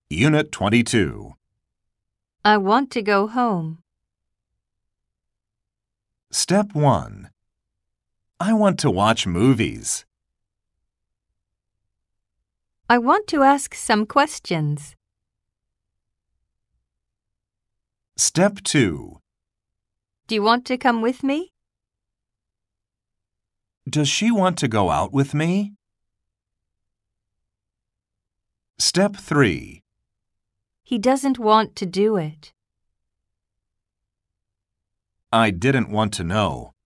Unit 22. I want to go home. Step 1. I want to watch movies. I want to ask some questions. Step 2. Do you want to come with me? Does she want to go out with me? Step 3. He doesn't want to do it. I didn't want to know.